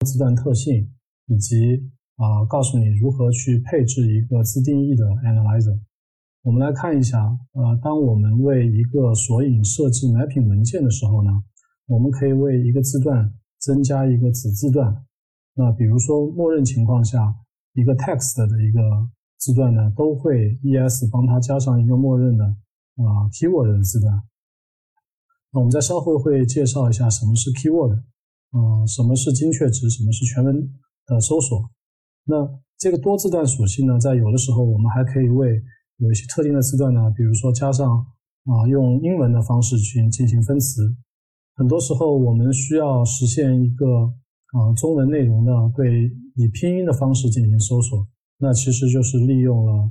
字段特性，以及告诉你如何去配置一个自定义的 analyzer。我们来看一下，当我们为一个索引设置 mapping 文件的时候呢，我们可以为一个字段增加一个子字段。那比如说默认情况下，一个 text 的一个字段呢，都会 ES 帮它加上一个默认的keyword 的字段。那我们在稍后会介绍一下什么是 keyword，什么是精确值，什么是全文的搜索。那这个多字段属性呢，在有的时候我们还可以为有一些特定的字段呢，比如说加上用英文的方式去进行分词。很多时候我们需要实现一个中文内容呢，对以拼音的方式进行搜索，那其实就是利用了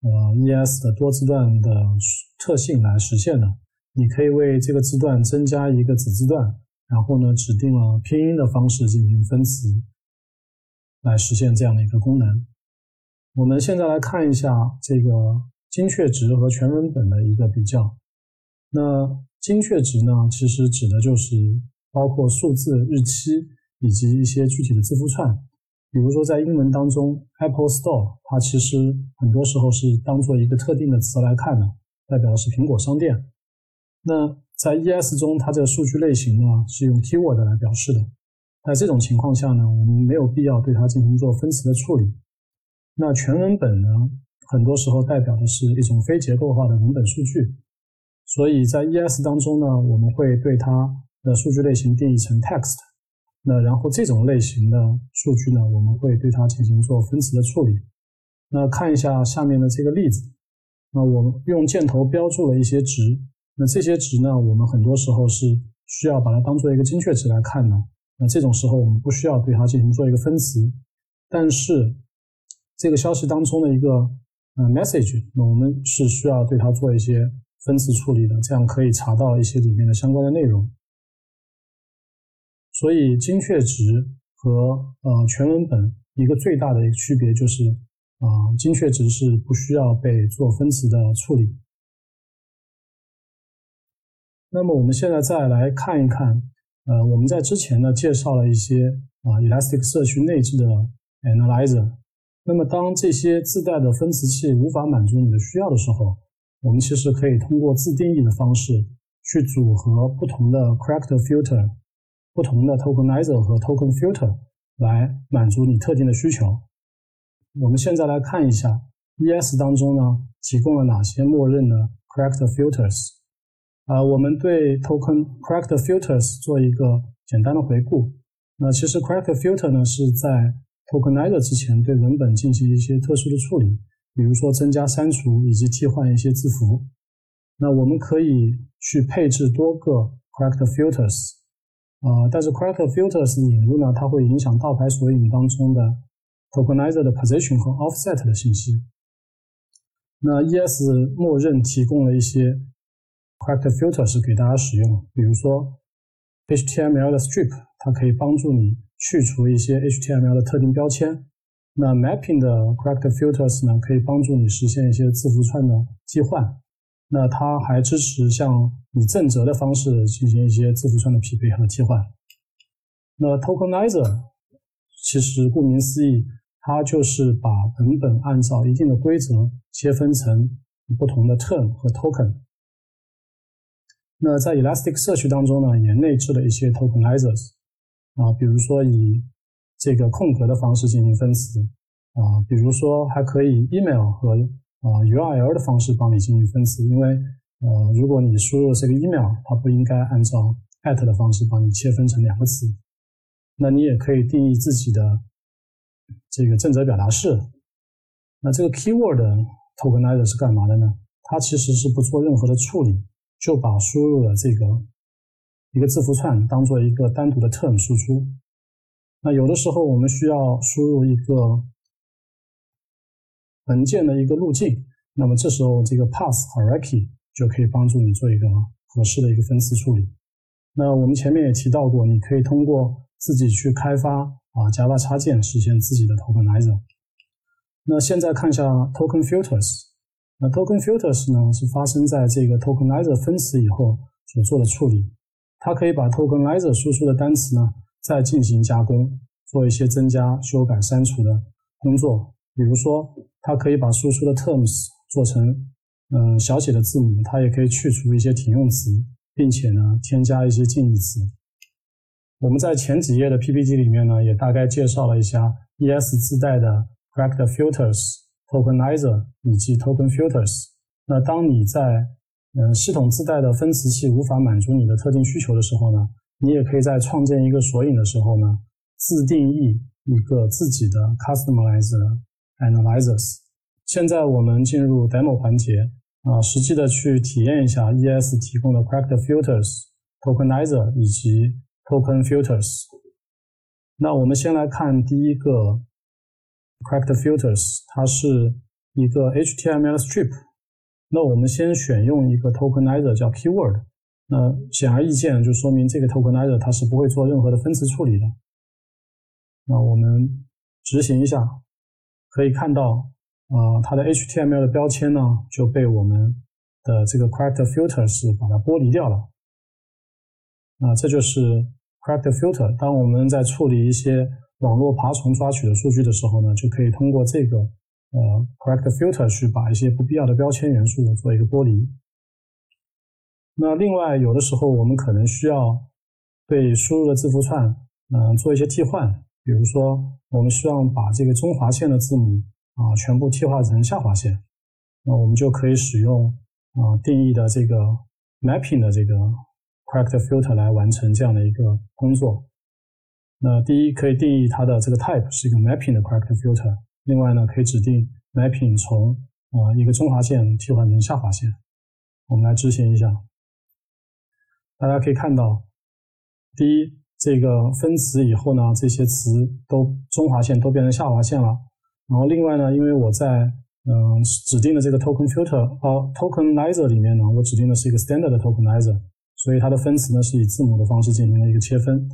ES 的多字段的特性来实现的。你可以为这个字段增加一个子字段，然后呢指定了拼音的方式进行分词，来实现这样的一个功能。我们现在来看一下这个精确值和全文本的一个比较。那精确值呢，其实指的就是包括数字、日期以及一些具体的字符串。比如说在英文当中 Apple Store 它其实很多时候是当做一个特定的词来看的，代表的是苹果商店。那在 ES 中，它这个数据类型呢是用 keyword 来表示的。在这种情况下呢，我们没有必要对它进行做分词的处理。那全文本呢，很多时候代表的是一种非结构化的文本数据，所以在 ES 当中呢，我们会对它的数据类型定义成 text。那然后这种类型的数据呢，我们会对它进行做分词的处理。那看一下下面的这个例子，那我们用箭头标注了一些值，那这些值呢，我们很多时候是需要把它当做一个精确值来看的。那这种时候我们不需要对它进行做一个分词，但是这个消息当中的一个message， 那我们是需要对它做一些分词处理的，这样可以查到一些里面的相关的内容。所以精确值和全文本一个最大的一个区别就是精确值是不需要被做分词的处理。那么我们现在再来看一看我们在之前呢介绍了一些Elasticsearch内置的 Analyzer。那么当这些自带的分词器无法满足你的需要的时候，我们其实可以通过自定义的方式去组合不同的 Character Filter、不同的 Tokenizer 和 Token Filter 来满足你特定的需求。我们现在来看一下 ES 当中呢提供了哪些默认的 Character Filters。我们对 Character Filters 做一个简单的回顾。那其实 Character Filter 呢是在 Tokenizer 之前对文本进行一些特殊的处理，比如说增加、删除以及替换一些字符。那我们可以去配置多个 Character Filters。但是 Character Filters 的引入呢，它会影响盗牌索引当中的 Tokenizer 的 Position 和 Offset 的信息。那 ES 默认提供了一些 Character Filters 给大家使用，比如说 HTML 的 Strip， 它可以帮助你去除一些 HTML 的特定标签。那 Mapping 的 Character Filters 呢，可以帮助你实现一些字符串的替换。那它还支持像以正则的方式进行一些字符串的匹配和替换。那 Tokenizer 其实顾名思义，它就是把文本按照一定的规则切分成不同的 term 和 token。那在 Elasticsearch 当中呢，也内置了一些 Tokenizers，比如说以这个空格的方式进行分词，比如说还可以 email 和URL 的方式帮你进行分词，因为如果你输入这个 email， 它不应该按照 at 的方式帮你切分成两个词。那你也可以定义自己的这个正则表达式。那这个 keyword tokenizer 是干嘛的呢？它其实是不做任何的处理，就把输入的这个一个字符串当做一个单独的 term 输出。那有的时候我们需要输入一个文件的一个路径，那么这时候这个 path hierarchy 就可以帮助你做一个合适的一个分词处理。那我们前面也提到过，你可以通过自己去开发Java 插件实现自己的 Tokenizer。那现在看一下 Token Filters。那 Token Filters 呢是发生在这个 Tokenizer 分词以后所做的处理。它可以把 Tokenizer 输出的单词呢再进行加工， 做一些增加、修改、删除的工作。比如说，它可以把输出的 terms 做成小写的字母，它也可以去除一些停用词，并且呢添加一些近义词。我们在前几页的 PPT 里面呢，也大概介绍了一下 ES 自带的 Character Filters、Tokenizer 以及 Token Filters。那当你在系统自带的分词器无法满足你的特定需求的时候呢，你也可以在创建一个索引的时候呢，自定义一个自己的 Customized Analyzers。现在我们进入 Demo 环节，实际的去体验一下 ES 提供的 Character Filters、Tokenizer 以及 Token Filters。那我们先来看第一个 Character Filters， 它是一个 HTML strip。那我们先选用一个 Tokenizer 叫 Keyword。那显而易见，就说明这个 Tokenizer 它是不会做任何的分词处理的。那我们执行一下，可以看到它的 HTML 的标签呢就被我们的这个 Character Filters 把它剥离掉了。那这就是 Character Filter。当我们在处理一些网络爬虫抓取的数据的时候呢，就可以通过这个Character Filter 去把一些不必要的标签元素做一个剥离。那另外有的时候我们可能需要对输入的字符串做一些替换，比如说我们希望把这个中划线的字母全部替换成下划线，那我们就可以使用定义的这个 mapping 的这个 Character Filter 来完成这样的一个工作。那第一可以定义它的这个 type 是一个 mapping 的 Character Filter， 另外呢可以指定 mapping 从一个中划线替换成下划线。我们来执行一下，大家可以看到，第一，这个分词以后呢，这些词都中划线都变成下划线了。然后另外呢，因为我在指定的这个 Token Filter、Tokenizer 里面呢，我指定的是一个 Standard 的 Tokenizer， 所以它的分词呢是以字母的方式进行了一个切分。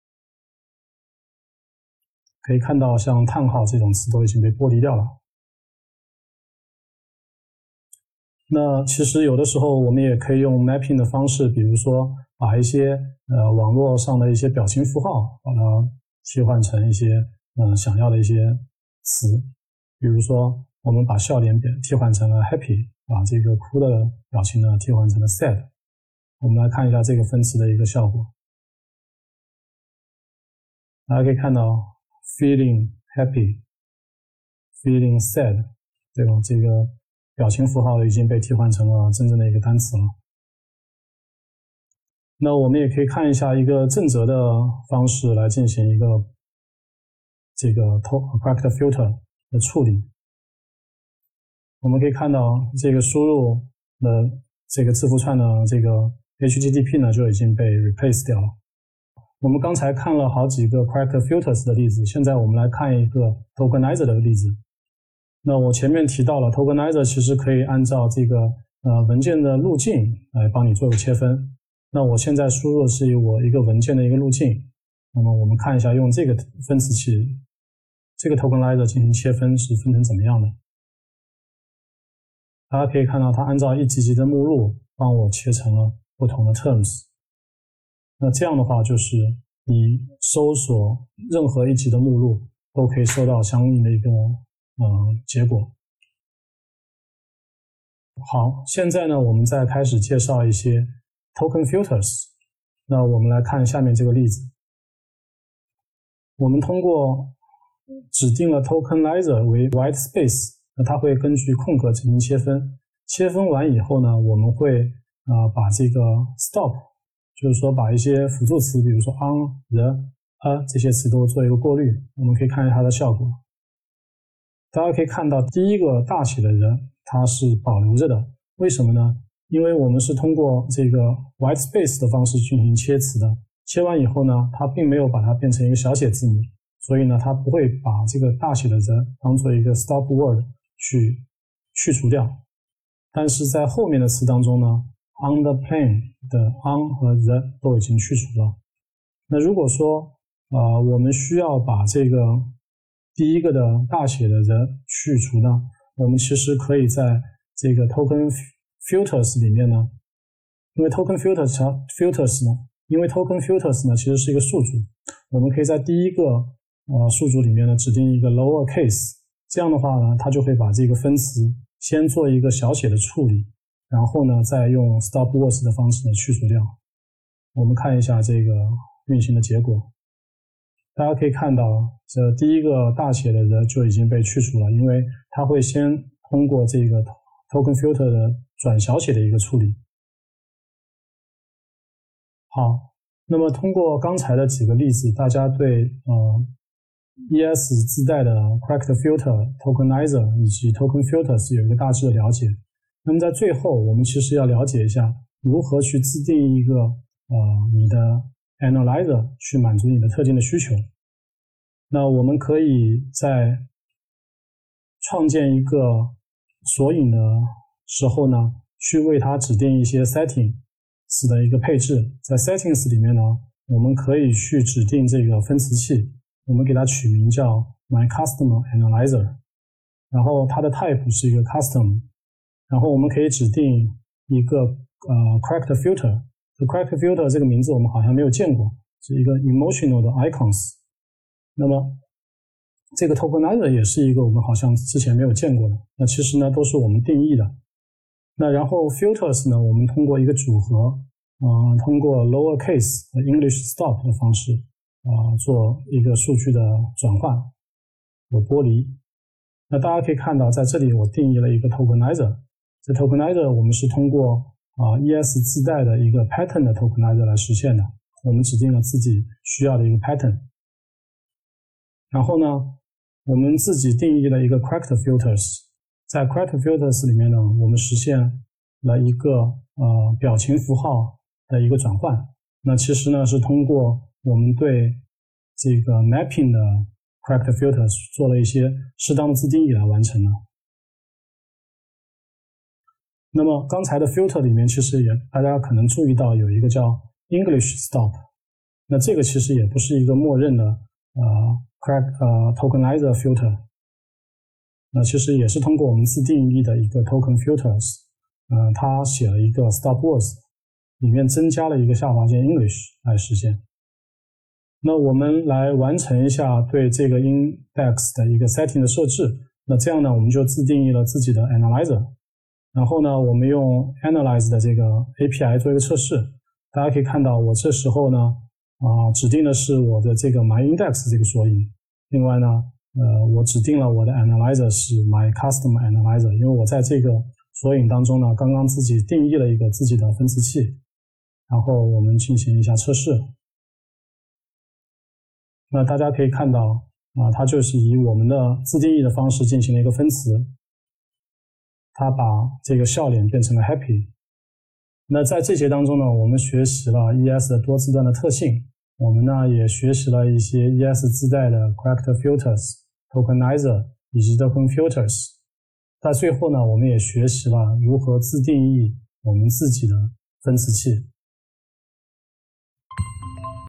可以看到像叹号这种词都已经被剥离掉了。那其实有的时候我们也可以用 mapping 的方式，比如说把一些网络上的一些表情符号把它替换成一些想要的一些词，比如说我们把笑脸替换成了 happy， 把这个哭的表情呢替换成了 sad。 我们来看一下这个分词的一个效果，大家可以看到 feeling happy、feeling sad 这个表情符号已经被替换成了真正的一个单词了。那我们也可以看一下一个正则的方式来进行一个这个 Character Filter 的处理。我们可以看到这个输入的这个字符串的这个 HTTP 呢就已经被 replace 掉了。我们刚才看了好几个 Character Filters 的例子，现在我们来看一个 Tokenizer 的例子。那我前面提到了 Tokenizer 其实可以按照这个文件的路径来帮你做个切分。那我现在输入的是我一个文件的一个路径，那么我们看一下用这个分词器这个 Tokenizer 进行切分是分成怎么样的。大家可以看到它按照一级级的目录帮我切成了不同的 terms。 那这样的话就是你搜索任何一级的目录都可以收到相应的一个结果。好，现在呢我们再开始介绍一些 Token Filters。 那我们来看下面这个例子，我们通过指定了 Tokenizer 为 white space， 那它会根据空格进行切分，切分完以后呢，我们会把这个 stop， 就是说把一些辅助词，比如说 on、the、这些词都做一个过滤。我们可以看一下它的效果。大家可以看到第一个大写的人它是保留着的，为什么呢？因为我们是通过这个 white space 的方式进行切词的，切完以后呢，它并没有把它变成一个小写字母，所以呢，它不会把这个大写的人当做一个 stop word 去除掉。但是在后面的词当中呢 on the plane 的 on 和 the 都已经去除了。那如果说我们需要把这个第一个的大写的人去除呢，我们其实可以在这个 Token Filters 里面呢，因为 Token Filters 呢其实是一个数组，我们可以在第一个数组里面呢指定一个 lower case， 这样的话呢，它就会把这个分词先做一个小写的处理，然后呢再用 stop words 的方式呢去除掉。我们看一下这个运行的结果，大家可以看到这第一个大写的人就已经被去除了，因为它会先通过这个 token filter 的转小写的一个处理。好，那么通过刚才的几个例子，大家对ES 自带的 correct filter、tokenizer 以及 token filters 有一个大致的了解。那么在最后，我们其实要了解一下如何去自定一个你的 analyzer 去满足你的特定的需求。那我们可以在创建一个索引的时候呢，去为它指定一些 settings 的一个配置。在 settings 里面呢，我们可以去指定这个分词器，我们给它取名叫 my customer analyzer， 然后它的 type 是一个 custom， 然后我们可以指定一个correct filter。correct filter 这个名字我们好像没有见过，是一个 emotional 的 icons。那么这个 tokenizer 也是一个我们好像之前没有见过的，那其实呢都是我们定义的。那然后 filters 呢，我们通过一个组合，通过 lower case 和 English stop 的方式，做一个数据的转换和剥离。那大家可以看到，在这里我定义了一个 tokenizer， 这 tokenizer 我们是通过ES 自带的一个 pattern 的 tokenizer 来实现的，我们指定了自己需要的一个 pattern。然后呢，我们自己定义了一个 correct filters， 在 correct filters 里面呢，我们实现了一个表情符号的一个转换。那其实呢是通过我们对这个 mapping 的 correct filters 做了一些适当的自定义来完成的。那么刚才的 filter 里面其实也大家可能注意到有一个叫 English stop， 那这个其实也不是一个默认的tokenizer filter， 那其实也是通过我们自定义的一个 token filters， 它写了一个 stop words， 里面增加了一个下划线 English 来实现。那我们来完成一下对这个 index 的一个 setting 的设置，那这样呢我们就自定义了自己的 analyzer， 然后呢我们用 analyze 的这个 API 做一个测试。大家可以看到我这时候呢指定的是我的这个 myIndex 这个索引，另外呢我指定了我的 analyzer 是 myCustomer analyzer， 因为我在这个索引当中呢刚刚自己定义了一个自己的分词器，然后我们进行一下测试。那大家可以看到它就是以我们的自定义的方式进行了一个分词，它把这个笑脸变成了 happy。 那在这节当中呢，我们学习了 ES 的多字段的特性，我们呢也学习了一些 ES 自带的 correct filters、tokenizer 以及 token filters。在最后呢，我们也学习了如何自定义我们自己的分词器。